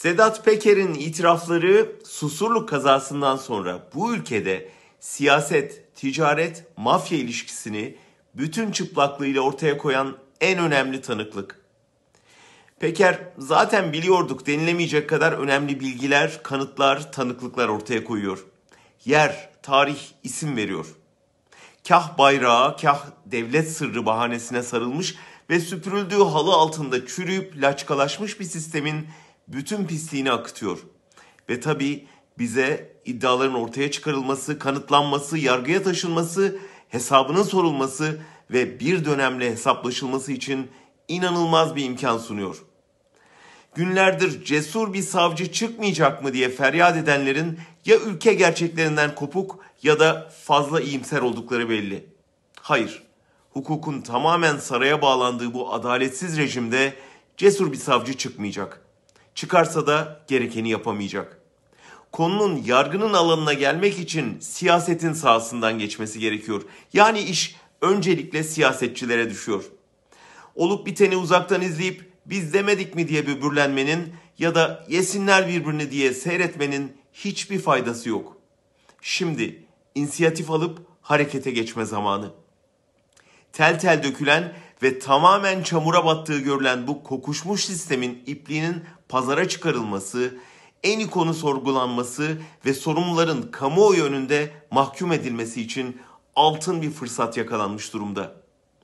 Sedat Peker'in itirafları Susurluk kazasından sonra bu ülkede siyaset, ticaret, mafya ilişkisini bütün çıplaklığıyla ortaya koyan en önemli tanıklık. Peker zaten biliyorduk denilemeyecek kadar önemli bilgiler, kanıtlar, tanıklıklar ortaya koyuyor. Yer, tarih, isim veriyor. Kah bayrağı, kah devlet sırrı bahanesine sarılmış ve süpürüldüğü halı altında çürüyüp laçkalaşmış bir sistemin bütün pisliğini akıtıyor. Ve tabii bize iddiaların ortaya çıkarılması, kanıtlanması, yargıya taşınması, hesabının sorulması ve bir dönemle hesaplaşılması için inanılmaz bir imkan sunuyor. Günlerdir cesur bir savcı çıkmayacak mı diye feryat edenlerin ya ülke gerçeklerinden kopuk ya da fazla iyimser oldukları belli. Hayır, hukukun tamamen saraya bağlandığı bu adaletsiz rejimde cesur bir savcı çıkmayacak. Çıkarsa da gerekeni yapamayacak. Konunun yargının alanına gelmek için siyasetin sahasından geçmesi gerekiyor. Yani iş öncelikle siyasetçilere düşüyor. Olup biteni uzaktan izleyip biz demedik mi diye böbürlenmenin ya da yesinler birbirini diye seyretmenin hiçbir faydası yok. Şimdi inisiyatif alıp harekete geçme zamanı. Tel tel dökülen ve tamamen çamura battığı görülen bu kokuşmuş sistemin ipliğinin pazara çıkarılması, en iyi konu sorgulanması ve sorumluların kamuoyu önünde mahkum edilmesi için altın bir fırsat yakalanmış durumda.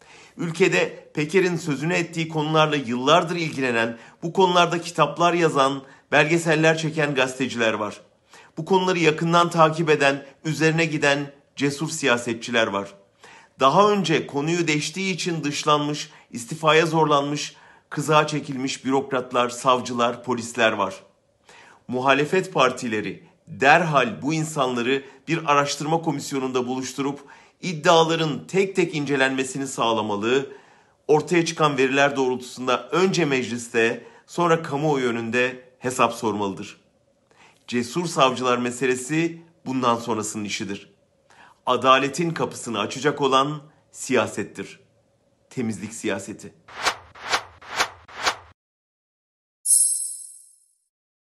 Ülkede Peker'in sözünü ettiği konularla yıllardır ilgilenen, bu konularda kitaplar yazan, belgeseller çeken gazeteciler var. Bu konuları yakından takip eden, üzerine giden cesur siyasetçiler var. Daha önce konuyu deştiği için dışlanmış, istifaya zorlanmış, kızağa çekilmiş bürokratlar, savcılar, polisler var. Muhalefet partileri derhal bu insanları bir araştırma komisyonunda buluşturup iddiaların tek tek incelenmesini sağlamalı, ortaya çıkan veriler doğrultusunda önce mecliste sonra kamuoyu önünde hesap sormalıdır. Cesur savcılar meselesi bundan sonrasının işidir. Adaletin kapısını açacak olan siyasettir. Temizlik siyaseti.